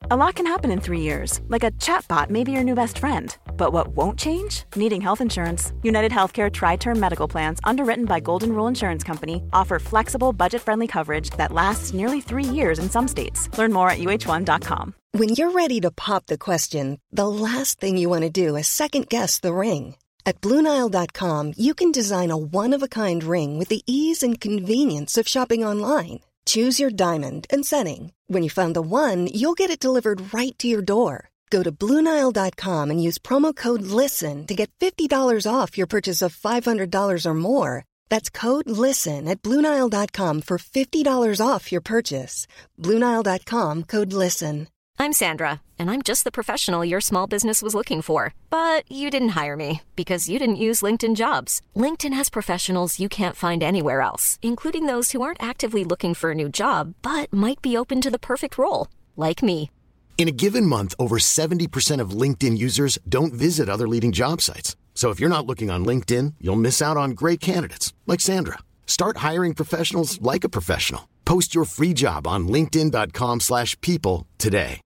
A lot can happen in 3 years, like a chatbot may be your new best friend. But what won't change? Needing health insurance. United Healthcare Tri-Term Medical Plans, underwritten by Golden Rule Insurance Company, offer flexible, budget-friendly coverage that lasts nearly 3 years in some states. Learn more at uh1.com. When you're ready to pop the question, the last thing you want to do is second-guess the ring. At BlueNile.com, you can design a one-of-a-kind ring with the ease and convenience of shopping online. Choose your diamond and setting. When you find the one, you'll get it delivered right to your door. Go to BlueNile.com and use promo code LISTEN to get $50 off your purchase of $500 or more. That's code LISTEN at BlueNile.com for $50 off your purchase. BlueNile.com, code LISTEN. I'm Sandra, and I'm just the professional your small business was looking for. But you didn't hire me because you didn't use LinkedIn Jobs. LinkedIn has professionals you can't find anywhere else, including those who aren't actively looking for a new job, but might be open to the perfect role, like me. In a given month, over 70% of LinkedIn users don't visit other leading job sites. So if you're not looking on LinkedIn, you'll miss out on great candidates like Sandra. Start hiring professionals like a professional. Post your free job on linkedin.com/people today.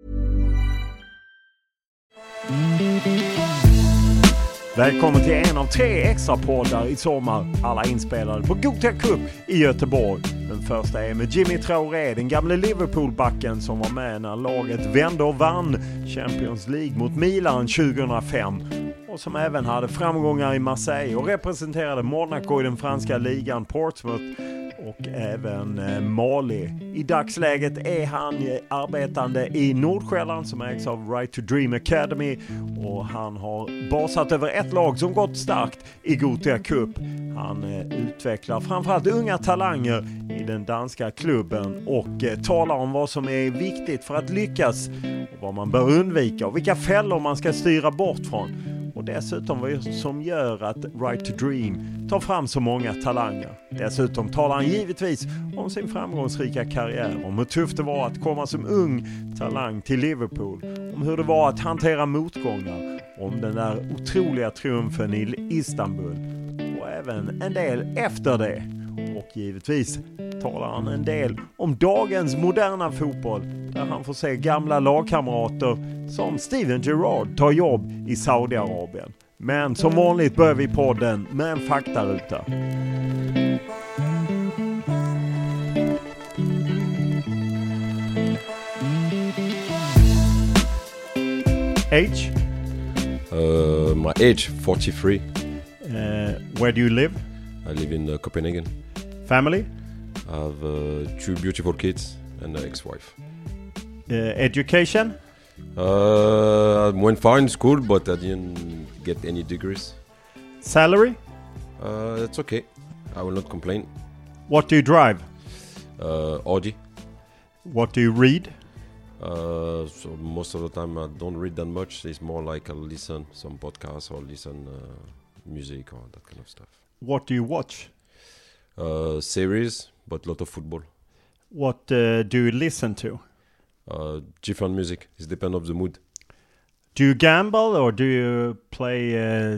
Välkommen till en av 3 extra poddar i sommar. Alla inspelade på Gothia Cup i Göteborg. Den första är med Jimmy Traoré, den gamla Liverpool-backen som var med när laget vände och vann Champions League mot Milan 2005. Och som även hade framgångar i Marseille och representerade Monaco i den franska ligan, Portsmouth och även Mali. I dagsläget är han arbetande i Nordsjälland som ägs av Right to Dream Academy, och han har basat över ett lag som gått starkt i Gothia Cup. Han utvecklar framförallt unga talanger i den danska klubben och talar om vad som är viktigt för att lyckas och vad man bör undvika och vilka fällor man ska styra bort från. Och dessutom vad som gör att Right to Dream tar fram så många talanger. Dessutom talar han givetvis om sin framgångsrika karriär, om hur tufft det var att komma som ung talang till Liverpool, om hur det var att hantera motgångar, om den där otroliga triumfen i Istanbul och även en del efter det. Och givetvis talar han en del om dagens moderna fotboll, där han får se gamla lagkamrater som Steven Gerrard ta jobb i Saudiarabien. Men som vanligt börjar vi podden med en faktaruta. Age? My age, 43. Where do you live? I live in Copenhagen. Family? I have 2 beautiful kids and an ex-wife. Education? I went far in school, but I didn't get any degrees. Salary? It's okay. I will not complain. What do you drive? Audi. What do you read? So most of the time I don't read that much. It's more like I listen some podcasts or listen music or that kind of stuff. What do you watch? Series, but a lot of football. What do you listen to? Different music. It depends of the mood. Do you gamble or do you play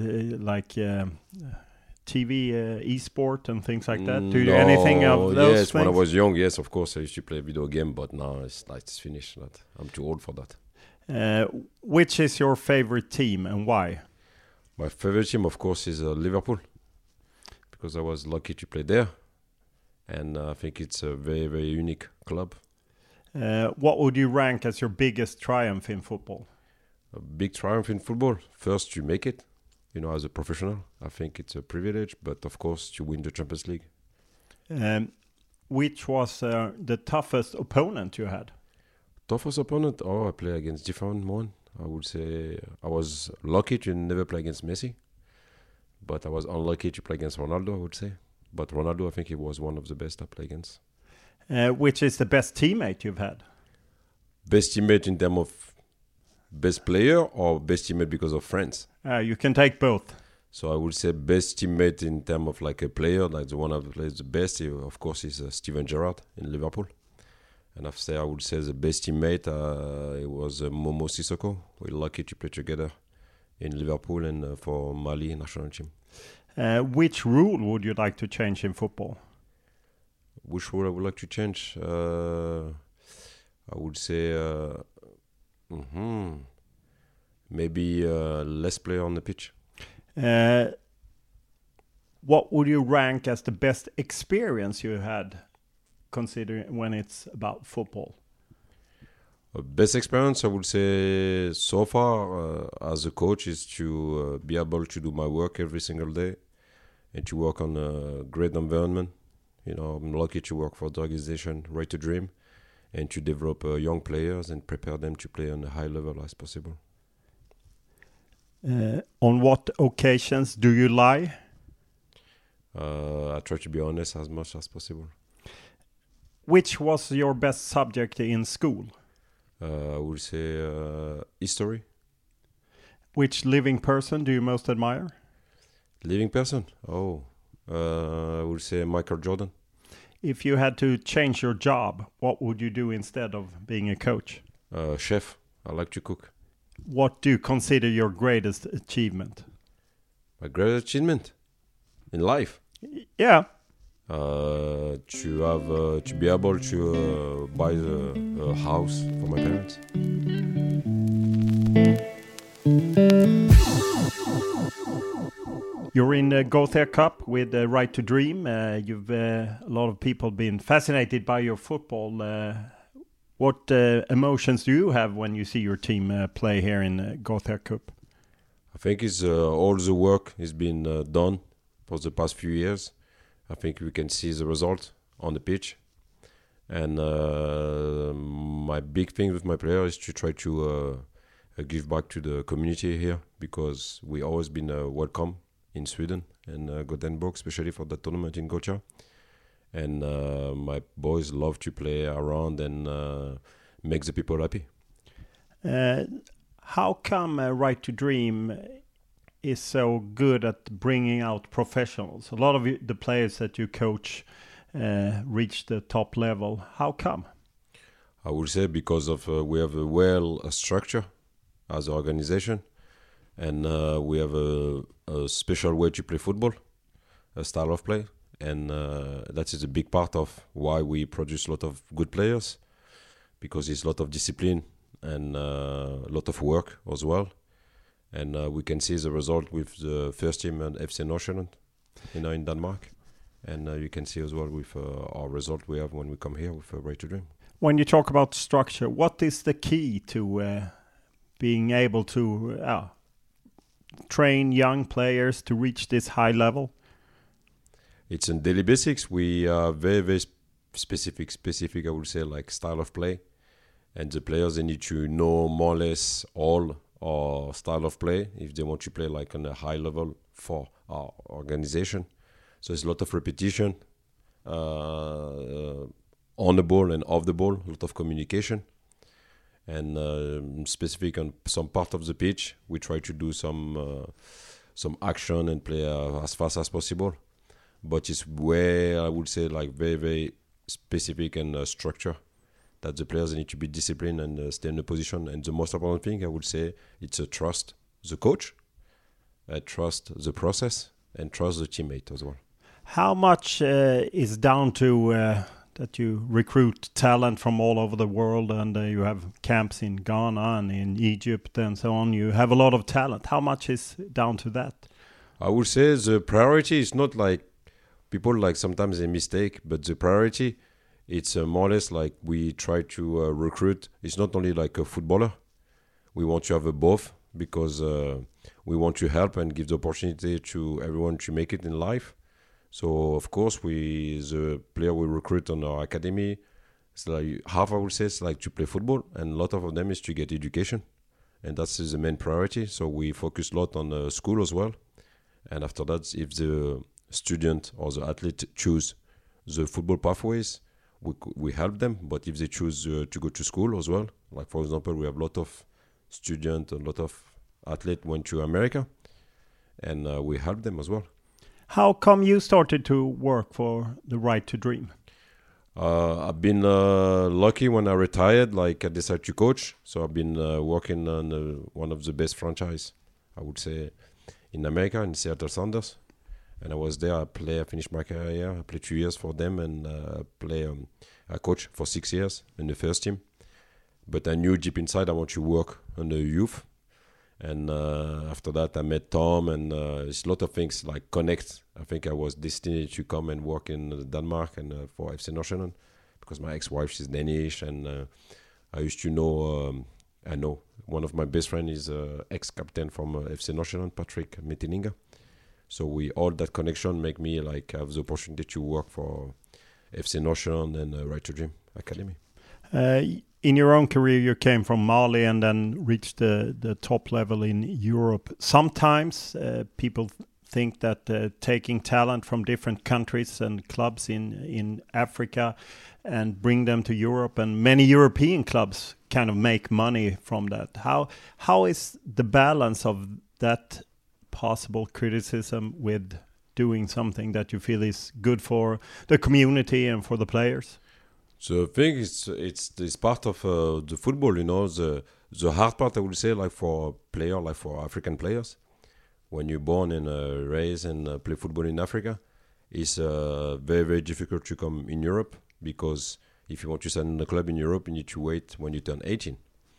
TV e-sport and things like that? Do you do anything of those Yes, things? when I was young, yes, of course I used to play video game, but now it's finished. I'm too old for that. Which is your favorite team and why? My favorite team, of course, is Liverpool, because I was lucky to play there, and I think it's a very, very unique club. What would you rank as your biggest triumph in football? A big triumph in football. First, you make it, as a professional. I think it's a privilege, but of course, to win the Champions League. Which was the toughest opponent you had? Toughest opponent? I play against different one. I would say I was lucky to never play against Messi, but I was unlucky to play against Ronaldo, I would say. But Ronaldo, I think he was one of the best I played against. Which is the best teammate you've had? Best teammate in terms of best player or best teammate because of friends? You can take both. So I would say best teammate in terms of like a player, like the one I played the best, of course, is Steven Gerrard in Liverpool. And I would say the best teammate, it was Momo Sissoko. We're lucky to play together in Liverpool and for Mali national team. Which rule would you like to change in football? Which rule I would like to change? I would say Maybe less player on the pitch. What would you rank as the best experience you had, considering when it's about football? Best experience, I would say, so far as a coach is to be able to do my work every single day and to work on a great environment. You know, I'm lucky to work for the organization Right to Dream and to develop young players and prepare them to play on a high level as possible. On what occasions do you lie? I try to be honest as much as possible. Which was your best subject in school? I would say history. Which living person do you most admire? Living person? I would say Michael Jordan. If you had to change your job, what would you do instead of being a coach? Chef. I like to cook. What do you consider your greatest achievement? My greatest achievement in life? Yeah. To be able to buy a house for my parents. You're in the Gothia Cup with Right to Dream. You've a lot of people been fascinated by your football. What emotions do you have when you see your team play here in Gothia Cup? I think it's all the work has been done for the past few years. I think we can see the result on the pitch. And my big thing with my players is to try to give back to the community here, because we always been welcome in Sweden and Gothenburg, especially for the tournament in Gothia. And my boys love to play around and make the people happy. How come Right to Dream is so good at bringing out professionals? A lot of the players that you coach reach the top level. How come? I would say because of we have a structure as an organization, and we have a special way to play football, a style of play, and that is a big part of why we produce a lot of good players, because it's a lot of discipline and a lot of work as well. And we can see the result with the first team and FC Nordsjælland, in Denmark. And you can see as well with our result we have when we come here with Right to Dream. When you talk about structure, what is the key to being able to train young players to reach this high level? It's in daily basics. We are very, very specific, I would say, like style of play. And the players, they need to know more or less all our style of play if they want to play like on a high level for our organization. So it's a lot of repetition on the ball and off the ball, a lot of communication. And specific on some part of the pitch, we try to do some action and play as fast as possible. But it's where I would say like very, very specific and structure, that the players need to be disciplined and stay in the position. And the most important thing, I would say, it's a trust the coach, trust the process, and trust the teammate as well. How much is down to that you recruit talent from all over the world, and you have camps in Ghana and in Egypt and so on? You have a lot of talent. How much is down to that? I would say the priority is not like people like sometimes they mistake, but the priority, it's more or less like we try to recruit. It's not only like a footballer. We want to have both, because we want to help and give the opportunity to everyone to make it in life. So of course, the player we recruit on our academy, it's like half, I would say, is like to play football, and a lot of them is to get education, and that's the main priority. So we focus a lot on school as well. And after that, if the student or the athlete choose the football pathways, we help them. But if they choose to go to school as well, like for example, we have a lot of students, a lot of athletes went to America, and we help them as well. How come you started to work for the Right to Dream? I've been lucky when I retired, like I decided to coach. So I've been working on one of the best franchise, I would say, in America, in Seattle Sounders. And I was there, I finished my career, I played 2 years for them, and I coached for 6 years in the first team. But I knew deep inside I want to work on the youth. And after that, I met Tom, and it's a lot of things like connect. I think I was destined to come and work in Denmark and for FC Nordsjælland, because my ex-wife, she's Danish, and I used to know, I know one of my best friends is ex-captain from FC Nordsjælland, Patrick Mettininga. So all that connection make me like have the opportunity to work for FC Nordsjælland and Right to Dream Academy. In your own career, you came from Mali and then reached the top level in Europe. Sometimes people think that taking talent from different countries and clubs in Africa and bring them to Europe, and many European clubs kind of make money from that. How is the balance of that possible criticism with doing something that you feel is good for the community and for the players? So I think it's part of the football, you know, the hard part, I would say, like for a player, like for African players, when you're born and raised and play football in Africa, it's very, very difficult to come in Europe, because if you want to sign in a club in Europe, you need to wait when you turn 18.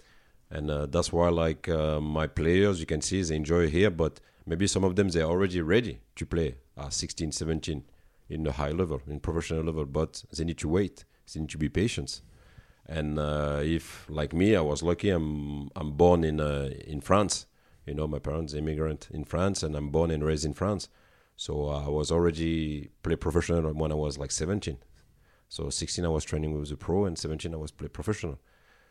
And that's why, like, my players, you can see they enjoy here, but maybe some of them, they're already ready to play at 16, 17 in the high level, in professional level, but they need to wait. They need to be patient. And if, like me, I was lucky, I'm born in France. You know, my parents immigrant in France, and I'm born and raised in France. So I was already play professional when I was like 17. So 16 I was training with the pro, and 17 I was play professional.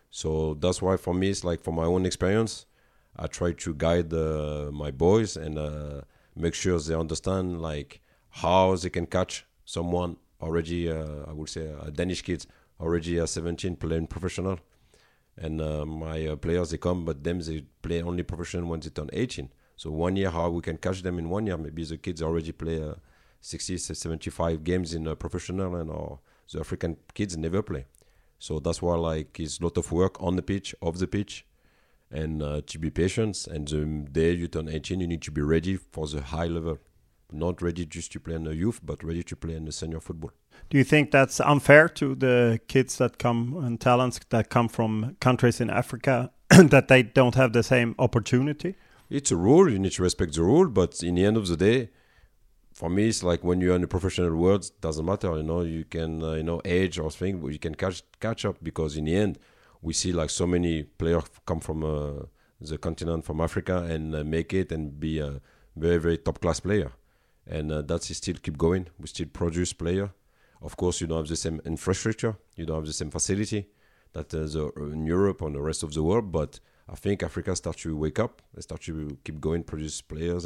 So that's why for me, it's like, for my own experience, I try to guide my boys and make sure they understand like how they can catch someone already, I would say, Danish kids already at 17 playing professional. And my players, they come, but them, they play only professional when they turn 18. So 1 year, how we can catch them in 1 year? Maybe the kids already play 60, 75 games in professional, and or the African kids never play. So that's why, like, it's a lot of work on the pitch, off the pitch, and to be patient. And the day you turn 18, you need to be ready for the high level. Not ready just to play in the youth, but ready to play in the senior football. Do you think that's unfair to the kids that come and talents that come from countries in Africa that they don't have the same opportunity? It's a rule. You need to respect the rule. But in the end of the day, for me, it's like when you're in the professional world, it doesn't matter. You know, you can, age or thing, but you can catch up, because in the end, we see like so many players come from the continent, from Africa, and make it and be a very, very top class player. And that's still keep going. We still produce player. Of course, you don't have the same infrastructure. You don't have the same facility that in Europe or the rest of the world. But I think Africa starts to wake up. They start to keep going, produce players.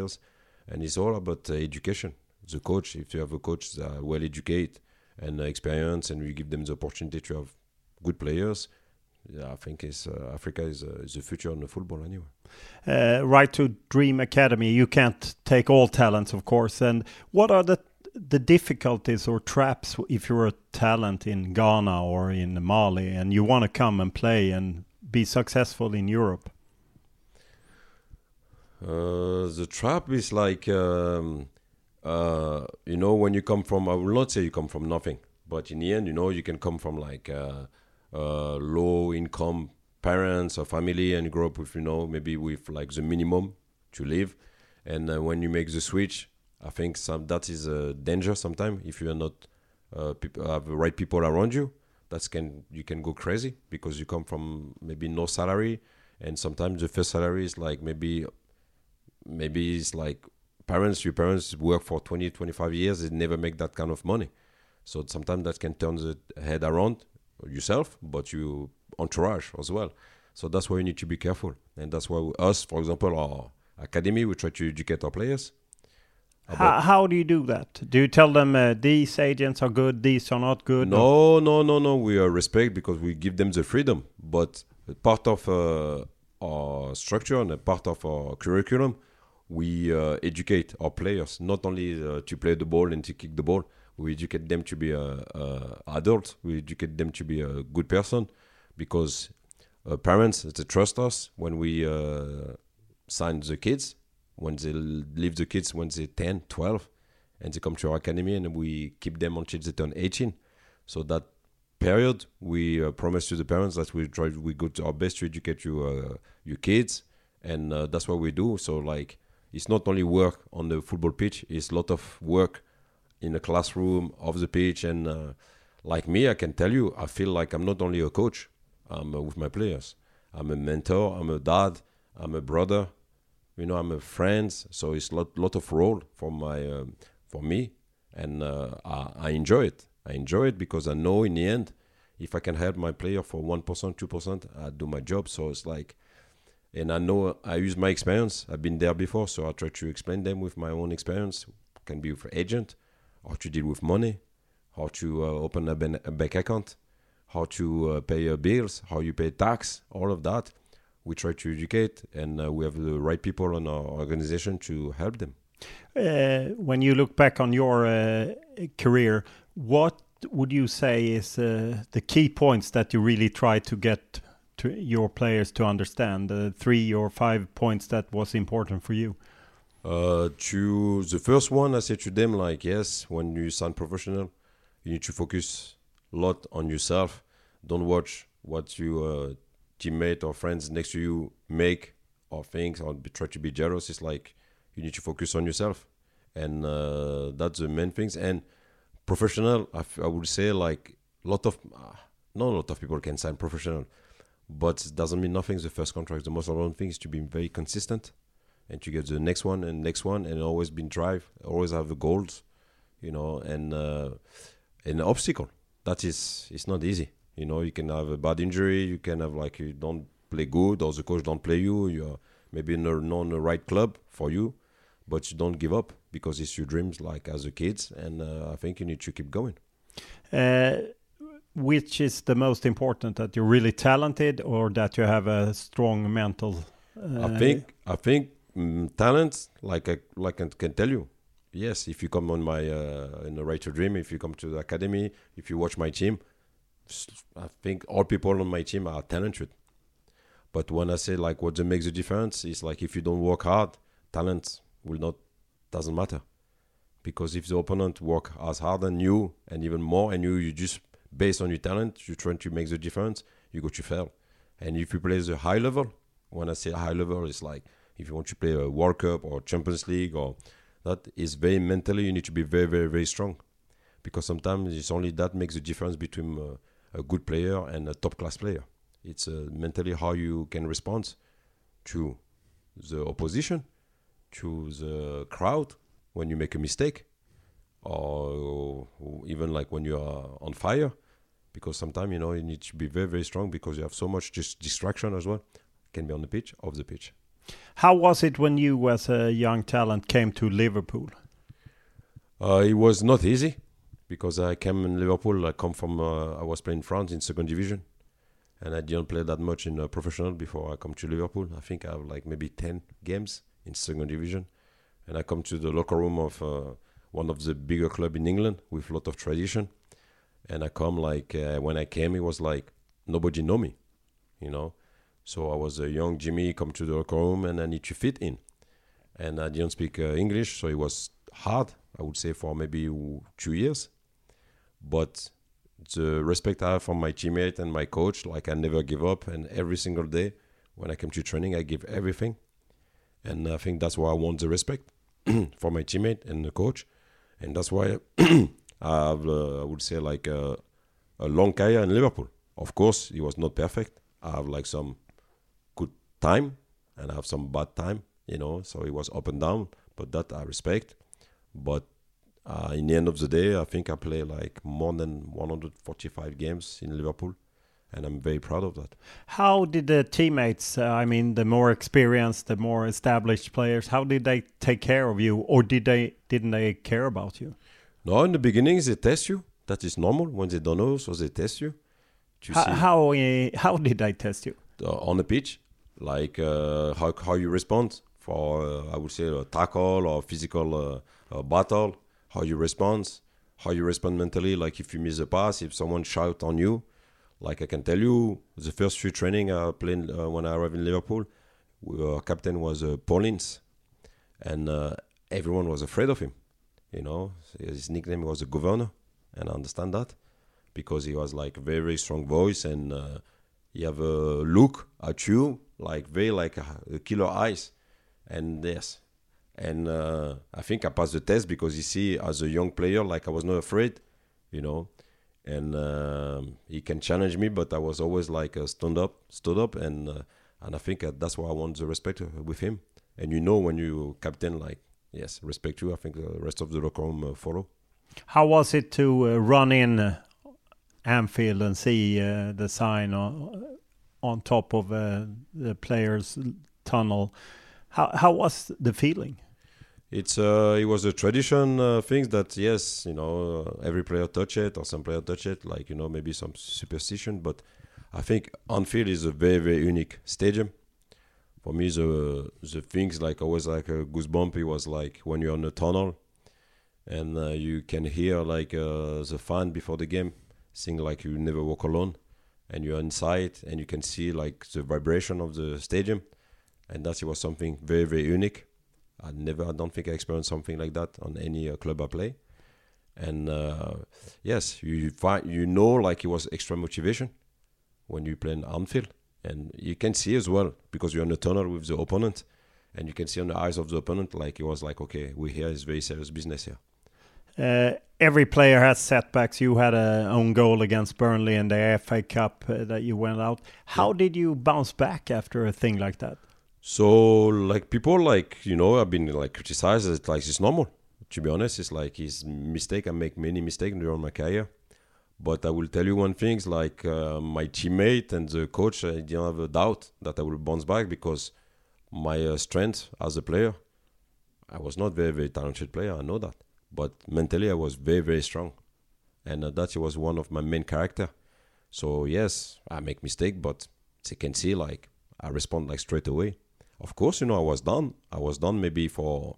And it's all about education. The coach, if you have a coach that are well educated and experienced, and you give them the opportunity to have good players, I think Africa is the future in the football anyway. Right to Dream Academy, you can't take all talents, of course. And what are the difficulties or traps if you're a talent in Ghana or in Mali and you want to come and play and be successful in Europe? The trap is like, when you come from, I will not say you come from nothing, but in the end, you can come from like low income parents or family and grow up with, maybe with like the minimum to live. And when you make the switch, I think that is a danger sometimes. If you are not have the right people around you, you can go crazy, because you come from maybe no salary, and sometimes the first salary is like maybe it's like your parents work for 20, 25 years, they never make that kind of money. So sometimes that can turn the head around yourself, but you entourage as well. So that's why you need to be careful. And that's why us, for example, our academy, we try to educate our players. How do you do that? Do you tell them these agents are good, these are not good? No. We respect, because we give them the freedom. But part of our structure and a part of our curriculum, we educate our players, not only to play the ball and to kick the ball. We educate them to be adults. We educate them to be a good person, because parents, they trust us when we sign the kids, when they leave the kids when they're 10, 12, and they come to our academy, and we keep them until they turn 18. So that period, we promise to the parents that we go to our best to educate your kids, and that's what we do. So like, it's not only work on the football pitch; it's a lot of work in the classroom, off the pitch, and like me, I can tell you, I feel like I'm not only a coach. I'm with my players. I'm a mentor. I'm a dad. I'm a brother. I'm a friend. So it's a lot of role for me, and I enjoy it. I enjoy it because I know in the end, if I can help my player for 1%, 2%, I do my job. So it's like, and I know I use my experience. I've been there before, so I try to explain them with my own experience. It can be with agent, how to deal with money, how to open a bank account, how to pay your bills, how you pay tax, all of that. We try to educate, and we have the right people in our organization to help them. When you look back on your career, what would you say is the key points that you really try to get to your players to understand? 3 or 5 points that was important for you? To the first one, I say to them, like, yes, when you sign professional, you need to focus a lot on yourself. Don't watch what your teammate or friends next to you make or think, or try to be jealous. It's like you need to focus on yourself, and that's the main things. And professional, I would say, like, not a lot of people can sign professional, but it doesn't mean nothing. The first contract, the most important thing is to be very consistent and to get the next one, and always be in drive, always have the goals, and an obstacle. That is, it's not easy. You can have a bad injury, you can have, like, you don't play good, or the coach don't play you, you're maybe not in the right club for you, but you don't give up because it's your dreams, like as a kid, and I think you need to keep going. Which is the most important, that you're really talented or that you have a strong mental? I think talent, like I can tell you, yes, if you come on my in the Right to Dream, if you come to the academy, if you watch my team, I think all people on my team are talented. But when I say, like, what makes the difference is, like, if you don't work hard, talent doesn't matter. Because if the opponent work as hard than you and even more, and you just based on your talent, you're trying to make the difference, you go to fail. And if you play the high level, when I say high level, it's like if you want to play a World Cup or Champions League, or that is very mentally, you need to be very, very, very strong. Because sometimes it's only that makes the difference between a good player and a top class player. It's mentally how you can respond to the opposition, to the crowd when you make a mistake, or even like when you are on fire. Because sometimes, you need to be very, very strong because you have so much just distraction as well. It can be on the pitch, off the pitch. How was it when you, as a young talent, came to Liverpool? It was not easy because I came in Liverpool. I was playing in France in second division, and I didn't play that much in professional before I come to Liverpool. I think I have like maybe 10 games in second division, and I come to the locker room of one of the bigger clubs in England with a lot of tradition. And I come when I came, it was like nobody know me, So I was a young Jimmy, come to the locker room, and I need to fit in. And I didn't speak English, so it was hard, I would say, for maybe 2 years. But the respect I have from my teammate and my coach, like I never give up. And every single day when I come to training, I give everything. And I think that's why I want the respect for my teammate and the coach. And that's why I have, I would say, like a long career in Liverpool. Of course, it was not perfect. I have like some good time and I have some bad time, so it was up and down, but that I respect. But in the end of the day, I think I play like more than 145 games in Liverpool, and I'm very proud of that. How did the teammates, the more experienced, the more established players, how did they take care of you, or didn't they care about you? No, in the beginning they test you. That is normal. When they don't know, so they test you. How did they test you? On the pitch, like how you respond for, I would say, a tackle or physical battle, how you respond mentally, like if you miss a pass, if someone shout on you. Like I can tell you, the first few training I played when I arrived in Liverpool, our captain was Paulins, and everyone was afraid of him. His nickname was the Governor, and I understand that. because he was like very, very strong voice, and he have a look at you like very like a killer eyes, and yes, and I think I passed the test because you see, as a young player, like I was not afraid, you know, and he can challenge me, but I was always like stood up, and I think that's why I want the respect with him. And you know, when you captain, like, yes, respect you, I think the rest of the locker room follow. How was it to run in Anfield and see the sign on top of the players' tunnel? How was the feeling? It was a tradition thing that, yes, you know, every player touch it, or some player touch it, like, you know, maybe some superstition, but I think Anfield is a very, very unique stadium. For me, the things like always like a goosebump, it was like when you're in a tunnel and you can hear like the fan before the game sing like You Never Walk Alone, and you're inside and you can see like the vibration of the stadium, and that was something very, very unique. I don't think I experienced something like that on any club I play. And yes, you know, like it was extra motivation when you play in Anfield. And you can see as well, because you're in a tunnel with the opponent, and you can see on the eyes of the opponent, like it was like, okay, we're here, it's very serious business here. Every player has setbacks. You had an own goal against Burnley in the FA Cup that you went out. How did you bounce back after a thing like that? So, like, people, like, you know, I've been, like, criticized as, like, it's normal. To be honest, it's like, it's mistake. I make many mistakes during my career. But I will tell you one thing, like, my teammate and the coach, I didn't have a doubt that I will bounce back, because my strength as a player, I was not very, very talented player, I know that. But mentally, I was very, very strong. And that was one of my main character. So, yes, I make mistake, but they can see, like, I respond, like, straight away. Of course, you know, I was done. I was done maybe for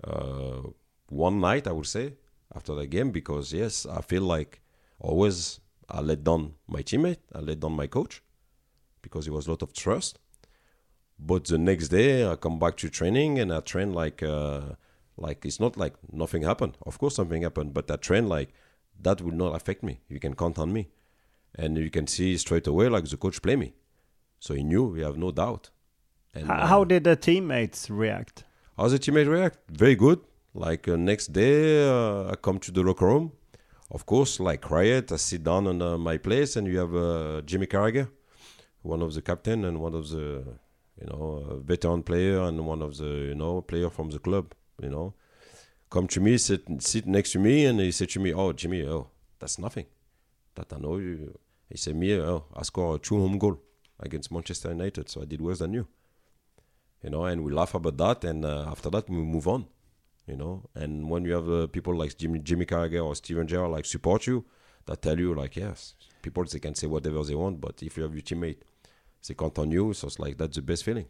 one night, I would say, after the game, because, yes, I feel like always I let down my teammate, I let down my coach, because it was a lot of trust. But the next day, I come back to training, and I train like it's not like nothing happened. Of course, something happened, but I train like that will not affect me. You can count on me. And you can see straight away, like, the coach play me. So he knew, we have no doubt. And how did the teammates react? How the teammates react? Very good. Like, next day, I come to the locker room. Of course, like, quiet, I sit down on my place, and you have Jimmy Carragher, one of the captain and one of the, you know, veteran player, and one of the, you know, player from the club, you know, come to me, sit next to me, and he said to me, "Oh, Jimmy, that's nothing. That I know you." He said, "Me, I scored 2 home goals against Manchester United, so I did worse than you." You know, and we laugh about that, and after that, we move on. You know, and when you have people like Jimmy Carragher or Steven Gerrard like support you, that tell you like, yes, people, they can say whatever they want, but if you have your teammate, they count on you, so it's like, that's the best feeling.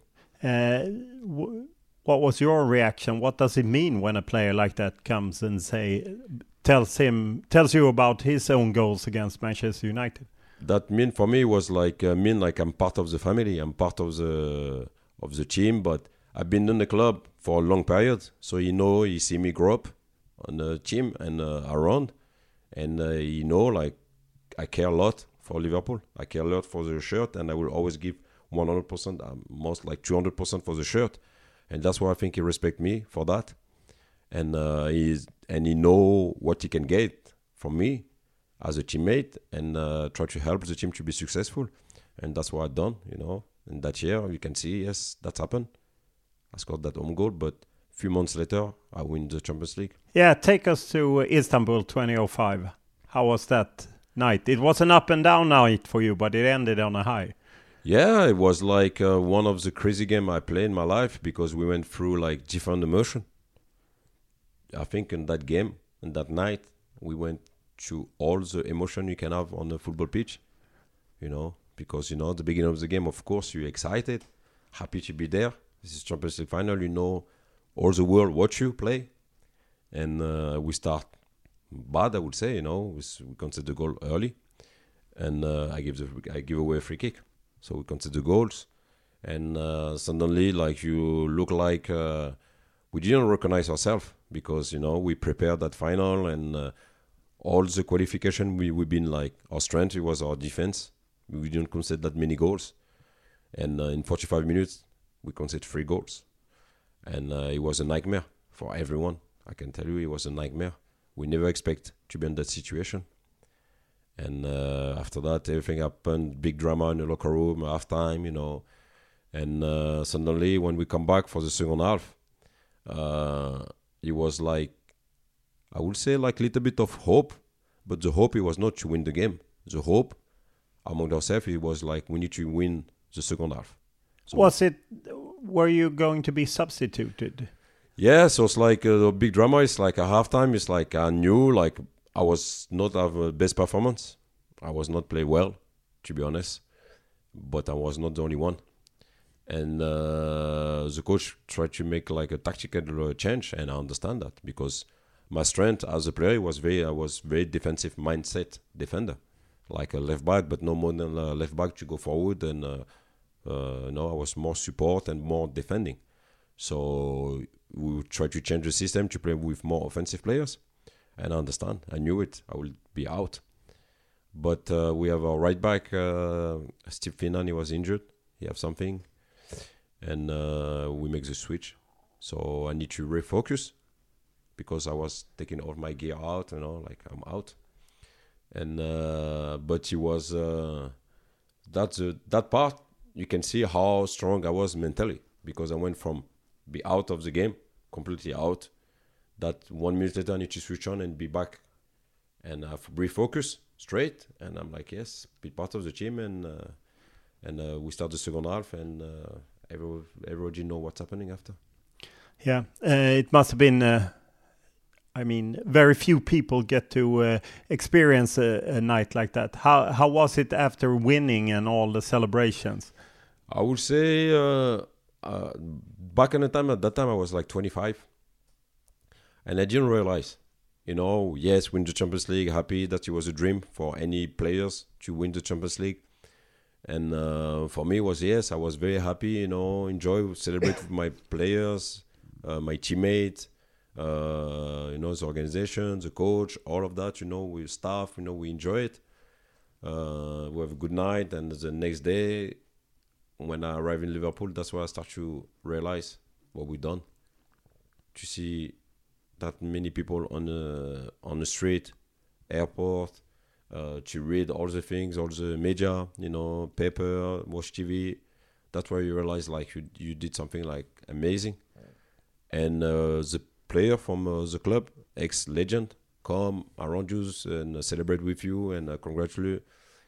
What was your reaction? What does it mean when a player like that comes and tells you about his own goals against Manchester United? That mean for me was like I'm part of the family, I'm part of the team, but I've been in the club for a long period, so he see me grow up on the team and around, and like, I care a lot for Liverpool. I care a lot for the shirt, and I will always give 100%, most like 200% for the shirt, and that's why I think he respect me for that, and he know what he can get from me as a teammate, and try to help the team to be successful, and that's what I've done, you know. And that year, you can see, yes, that's happened. I scored that home goal, but a few months later, I win the Champions League. Yeah, take us to Istanbul 2005. How was that night? It was an up and down night for you, but it ended on a high. Yeah, it was like one of the crazy games I played in my life, because we went through like different emotion. I think in that game, in that night, we went through all the emotion you can have on the football pitch, you know, because, you know, at the beginning of the game, of course, you're excited, happy to be there. This is Champions League final, you know, all the world watch you play. And we start bad, I would say, you know, we concede the goal early. And I give away a free kick. So we concede the goals. And suddenly, like, you look like we didn't recognize ourselves, because, you know, we prepared that final, and all the qualification, we've been like, our strength, it was our defense. We didn't concede that many goals. And in 45 minutes, we conceded 3 goals. And it was a nightmare for everyone. I can tell you, it was a nightmare. We never expect to be in that situation. And after that, everything happened, big drama in the locker room, halftime, And suddenly, when we come back for the second half, it was like, I would say like a little bit of hope. But the hope, it was not to win the game. The hope among ourselves, it was like, we need to win the second half. So were you going to be substituted? Yeah, so it's like the big drama. It's like a halftime. It's like I knew, like I was not have a best performance. I was not play well, to be honest. But I was not the only one. And the coach tried to make like a tactical change, and I understand that because my strength as a player I was very defensive mindset defender, like a left back, but no more than a left back to go forward. And I was more support and more defending. So we tried to change the system to play with more offensive players. And I understand. I knew it. I will be out. But we have our right back, Steve Finnan, he was injured. He have something. And we make the switch. So I need to refocus because I was taking all my gear out, like I'm out. And but he was that part. You can see how strong I was mentally because I went from be out of the game, completely out. That 1 minute later I need to switch on and be back and have refocus straight. And I'm like, yes, be part of the team. And we start the second half and everybody know what's happening after. Yeah, it must have been. Very few people get to experience a night like that. How was it after winning and all the celebrations? I would say back in the time, at that time I was like 25. And I didn't realize, yes, win the Champions League, happy that it was a dream for any players to win the Champions League. And for me, I was very happy, enjoy, celebrate with my players, my teammates, the organization, the coach, all of that, with staff, we enjoy it. We have a good night. And the next day, when I arrive in Liverpool, that's where I start to realize what we've done. To see that many people on the street, airport, to read all the things, all the media, paper, watch TV. That's where you realize like you did something like amazing. And the player from the club, ex-legend, come around you and celebrate with you and congratulate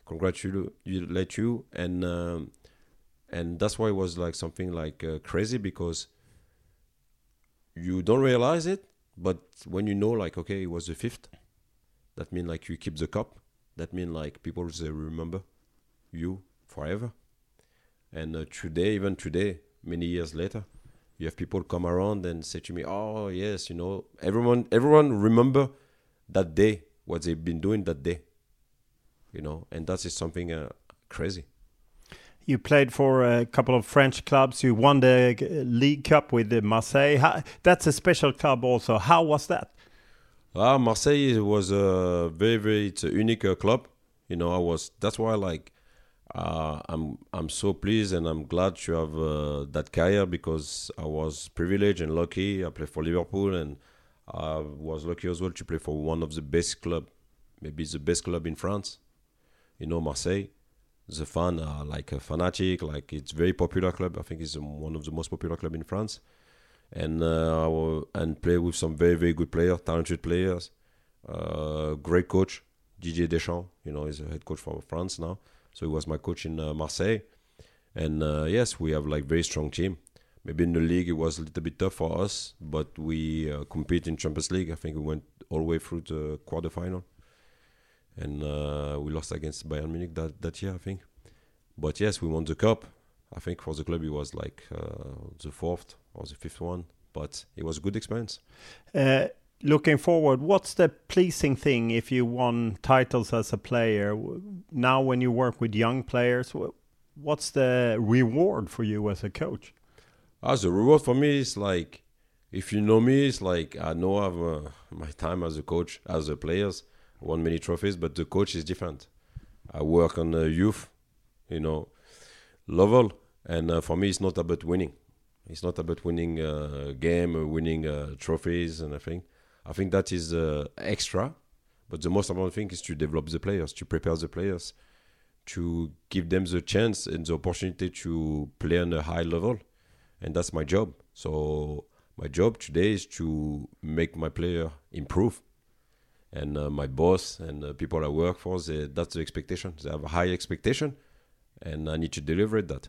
you. And that's why it was like something like crazy because you don't realize it. But when like, okay, it was the 5th, that means like you keep the cup. That means like people they remember you forever. And even today, many years later, you have people come around and say to me, oh, yes, everyone remember that day, what they've been doing that day, and that is something crazy. You played for a couple of French clubs. You won the League Cup with Marseille. That's a special club also. How was that? Marseille was a it's a unique club. That's why I'm so pleased and I'm glad to have that career because I was privileged and lucky. I played for Liverpool and I was lucky as well to play for one of the best club, maybe the best club in France. Marseille. The fan are like a fanatic, like it's very popular club. I think it's one of the most popular club in France. And play with some very, very good players, talented players. Great coach, Didier Deschamps, he's a head coach for France now. So he was my coach in Marseille. And yes, we have like very strong team. Maybe in the league it was a little bit tough for us, but we compete in Champions League. I think we went all the way through the quarterfinal. And we lost against Bayern Munich that year, I think. But yes, we won the cup. I think for the club it was like the 4th or the 5th one. But it was a good experience. Looking forward, what's the pleasing thing if you won titles as a player? Now when you work with young players, what's the reward for you as a coach? The reward for me is like, if you know me, it's like I know I have my time as a coach, as a players. won many trophies, but the coach is different. I work on youth, level, and for me, it's not about winning. It's not about winning a game or winning trophies and everything. I think that is extra, but the most important thing is to develop the players, to prepare the players, to give them the chance and the opportunity to play on a high level, and that's my job. So my job today is to make my player improve. And my boss and the people I work for, that's the expectation. They have a high expectation, and I need to deliver that,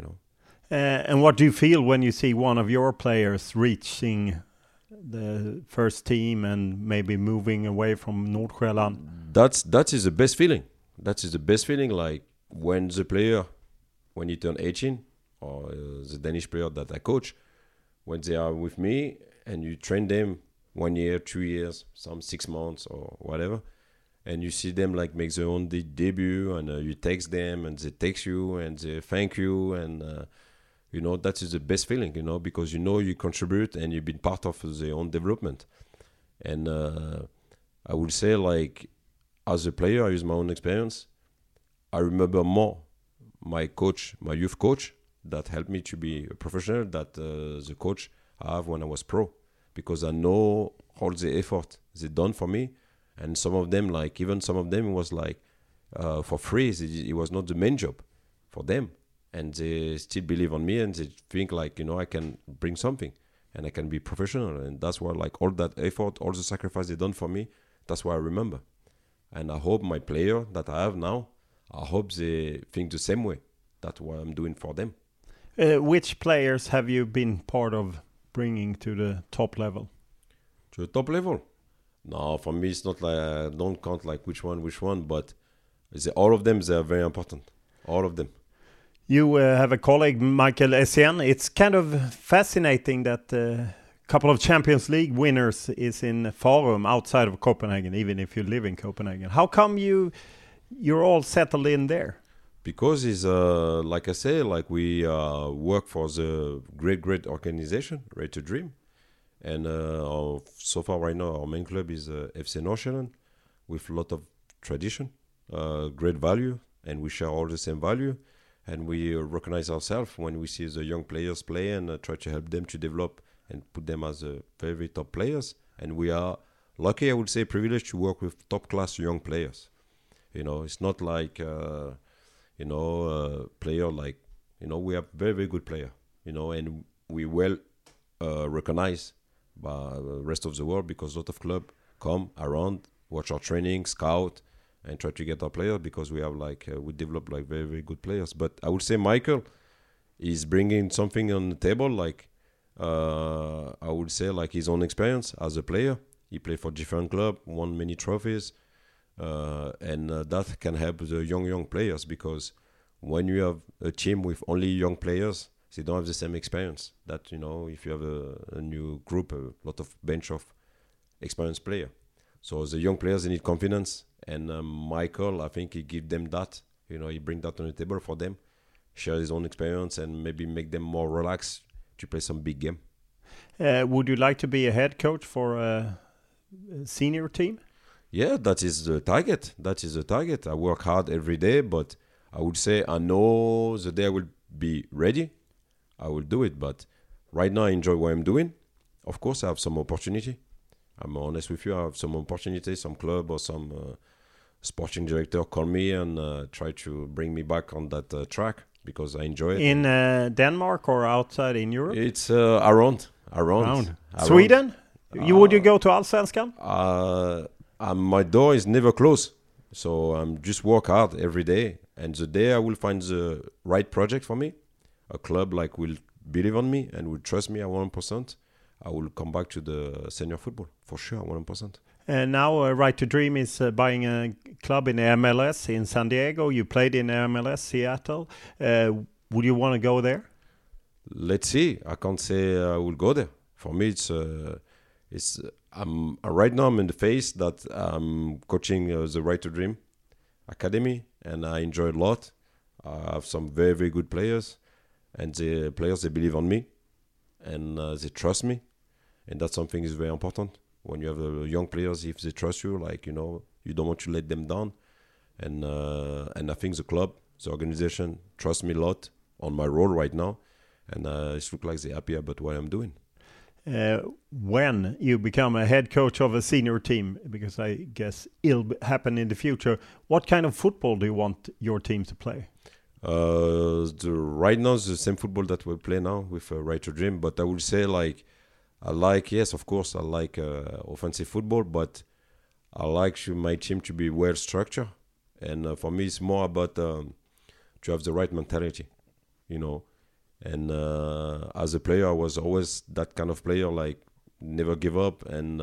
And what do you feel when you see one of your players reaching the first team and maybe moving away from Nordsjælland? That is the best feeling. That is the best feeling, like when the player, when he turn 18, or the Danish player that I coach, when they are with me and you train them 1 year, 2 years, some 6 months or whatever, and you see them like make their own debut, and you text them and they text you and they thank you, and that is the best feeling, because you contribute and you've been part of their own development. And I would say, like, as a player, I use my own experience. I remember more my coach, my youth coach, that helped me to be a professional, that the coach I have when I was pro, because I know all the effort they done for me. And some of them, like, even some of them was like for free. It was not the main job for them. And they still believe on me, and they think like, I can bring something and I can be professional. And that's why, like, all that effort, all the sacrifice they done for me, that's why I remember. And I hope my player that I have now, I hope they think the same way. That's what I'm doing for them. Which players have you been part of bringing to the top level? To the top level? No, for me, it's not like, I don't count like which one, but all of them, they are very important. All of them. You have a colleague, Michael Essien. It's kind of fascinating that a couple of Champions League winners is in Farum outside of Copenhagen, even if you live in Copenhagen. How come you're all settled in there? Because it's, like I say, like we work for the great organization, Right to Dream. And so far right now, our main club is FC Nordsjælland, with a lot of tradition, great value, and we share all the same value. And we recognize ourselves when we see the young players play and try to help them to develop and put them as very top players. And we are lucky, I would say, privileged to work with top-class young players. It's not like, player like, we have very good player, and we well recognized by the rest of the world, because a lot of clubs come around, watch our training, scout, and try to get our players, because we have we develop like very good players. But I would say Michael is bringing something on the table, like I would say, like his own experience as a player. He played for different clubs, won many trophies, and that can help the young players, because when you have a team with only young players, they don't have the same experience. That, if you have a new group, a lot of bench of experienced players. So the young players, they need confidence. And Michael, I think he give them that. He bring that on the table for them, share his own experience, and maybe make them more relaxed to play some big game. Would you like to be a head coach for a senior team? Yeah, that is the target. I work hard every day, but I would say I know the day I will be ready, I will do it. But right now I enjoy what I'm doing. Of course, I have some opportunity. I'm honest with you. I have some opportunity, some club or some sporting director call me and try to bring me back on that track, because I enjoy it. In Denmark or outside in Europe? It's around. Sweden? Would you go to Allsvenskan? My door is never closed. So I'm just work hard every day. And the day I will find the right project for me, a club like will believe on me and will trust me at 100%, I will come back to the senior football, for sure, 100%. And now Right to Dream is buying a club in MLS in San Diego. You played in MLS, Seattle. Would you want to go there? Let's see. I can't say I will go there. For me, right now I'm in the phase that I'm coaching the Right to Dream Academy, and I enjoy it a lot. I have some very good players, and the players, they believe on me, and they trust me, and that's something is very important. When you have young players, if they trust you, like, You don't want to let them down. And I think the club, the organization, trust me a lot on my role right now. And it looks like they're happy about what I'm doing. When you become a head coach of a senior team, because I guess it'll happen in the future, what kind of football do you want your team to play? Right now, it's the same football that we play now with Right to Dream. But I would say, like, yes, of course, I like offensive football, but I like my team to be well structured. And for me, it's more about to have the right mentality, you know. And as a player, I was always that kind of player, like never give up. And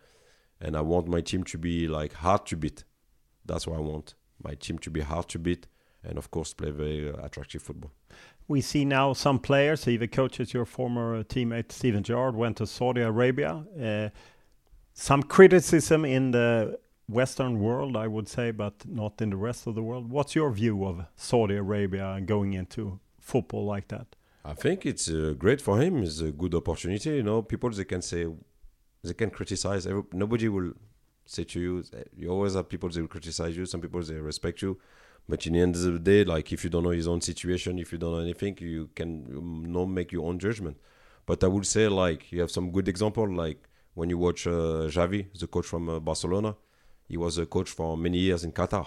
I want my team to be like hard to beat. That's what I want. My team to be hard to beat. And of course, play very attractive football. We see now some players, even coaches, your former teammate Steven Gerrard went to Saudi Arabia. Some criticism in the Western world, I would say, but not in the rest of the world. What's your view of Saudi Arabia and going into football like that? I think it's great for him. It's a good opportunity. You know, people, they can say, they can criticize. Nobody will say to you, you always have people, they will criticize you. Some people, they respect you. But in the end of the day, like, if you don't know his own situation, if you don't know anything, you can not make your own judgment. But I would say, like, you have some good example, like when you watch Xavi, the coach from Barcelona. He was a coach for many years in Qatar.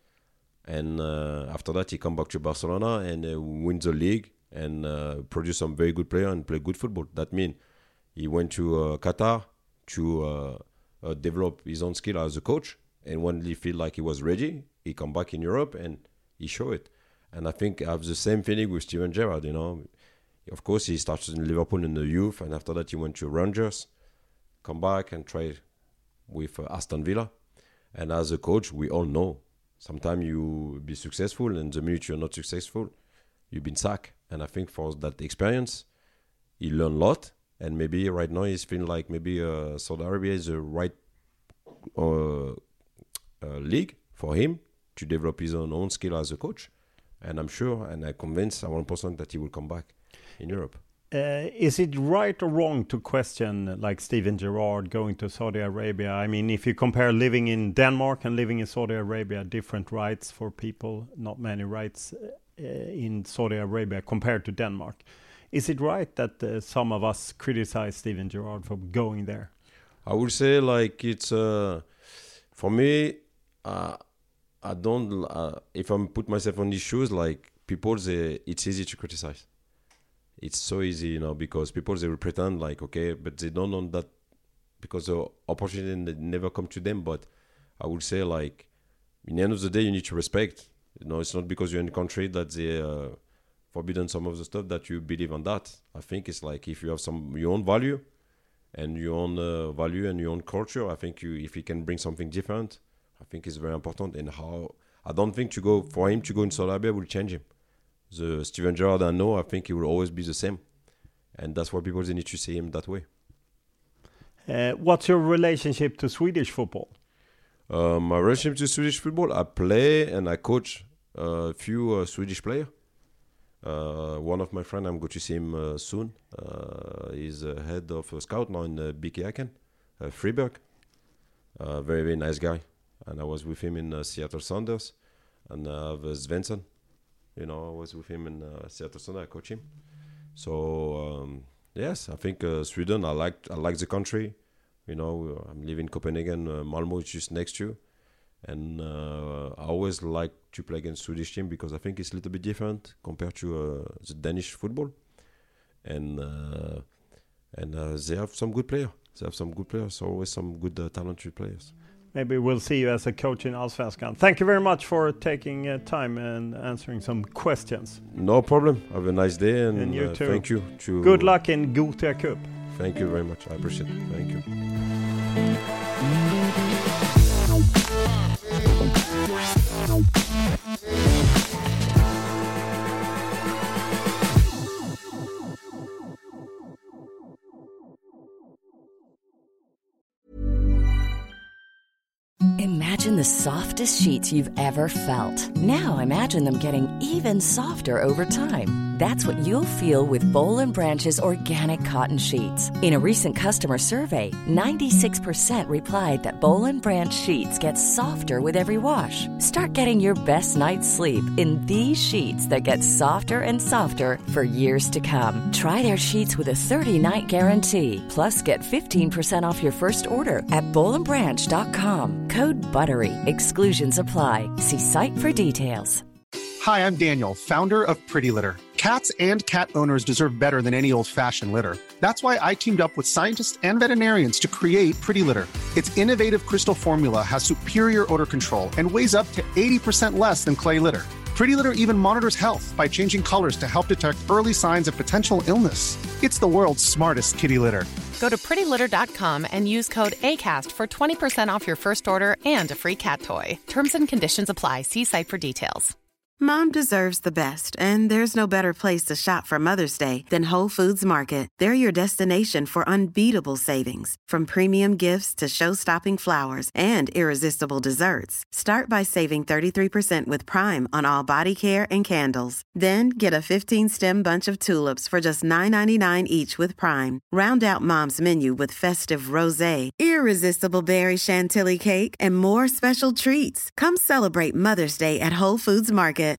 And after that, he come back to Barcelona and win the league and produce some very good player and play good football. That means he went to Qatar to develop his own skill as a coach. And when he feel like he was ready, he come back in Europe and he show it. And I think I have the same feeling with Steven Gerrard, you know. Of course, he started in Liverpool in the youth, and after that he went to Rangers, come back and try with Aston Villa. And as a coach, we all know, sometimes you be successful, and the minute you're not successful, you've been sacked. And I think for that experience, he learned a lot. And maybe right now he's feeling like maybe Saudi Arabia is the right league for him to develop his own skill as a coach. And I'm sure, and I'm convinced 100% that he will come back in Europe. Is it right or wrong to question, like Steven Gerrard going to Saudi Arabia? I mean, if you compare living in Denmark and living in Saudi Arabia, different rights for people, not many rights in Saudi Arabia compared to Denmark. Is it right that some of us criticize Steven Gerrard for going there? I would say, like, it's for me, I don't. If I put myself on these shoes, like, people, it's easy to criticize. It's so easy, you know, because people, they will pretend like, okay, but they don't know that because the opportunity never come to them. But I would say, like, in the end of the day, you need to respect. You know, it's not because you're in a country that they forbidden some of the stuff that you believe on that. I think it's like, if you have your own value and your own value and your own culture, I think if you can bring something different, I think it's very important. And I don't think for him to go in Saudi Arabia will change him. The Steven Gerrard I know, I think he will always be the same. And that's why people, they need to see him that way. What's your relationship to Swedish football? My relationship to Swedish football, I play and I coach a few Swedish players. One of my friends, I'm going to see him soon. He's head of a scout now in BK Häcken, Fribourg. Very, very nice guy. And I was with him in Seattle Sounders. And I have Svensson. You know, I was with him in Seattle Sounders. I coach him. So, yes, I think Sweden, I like the country. You know, I'm living in Copenhagen. Malmö is just next to you. And I always like to play against Swedish team because I think it's a little bit different compared to the Danish football. And they have some good players. Always some good talented players. Maybe we'll see you as a coach in Allsvenskan. Thank you very much for taking time and answering some questions. No problem. Have a nice day. And you too. Thank you. Good luck in Gothia Cup. Thank you very much. I appreciate it. Thank you. Imagine the softest sheets you've ever felt. Now imagine them getting even softer over time. That's what you'll feel with Boll & Branch's organic cotton sheets. In a recent customer survey, 96% replied that Boll & Branch sheets get softer with every wash. Start getting your best night's sleep in these sheets that get softer and softer for years to come. Try their sheets with a 30-night guarantee. Plus, get 15% off your first order at bollandbranch.com. Code BUTTERY. Exclusions apply. See site for details. Hi, I'm Daniel, founder of Pretty Litter. Cats and cat owners deserve better than any old-fashioned litter. That's why I teamed up with scientists and veterinarians to create Pretty Litter. Its innovative crystal formula has superior odor control and weighs up to 80% less than clay litter. Pretty Litter even monitors health by changing colors to help detect early signs of potential illness. It's the world's smartest kitty litter. Go to prettylitter.com and use code ACAST for 20% off your first order and a free cat toy. Terms and conditions apply. See site for details. Mom deserves the best, and there's no better place to shop for Mother's Day than Whole Foods Market. They're your destination for unbeatable savings, from premium gifts to show-stopping flowers and irresistible desserts. Start by saving 33% with Prime on all body care and candles. Then get a 15-stem bunch of tulips for just $9.99 each with Prime. Round out Mom's menu with festive rosé, irresistible berry chantilly cake, and more special treats. Come celebrate Mother's Day at Whole Foods Market.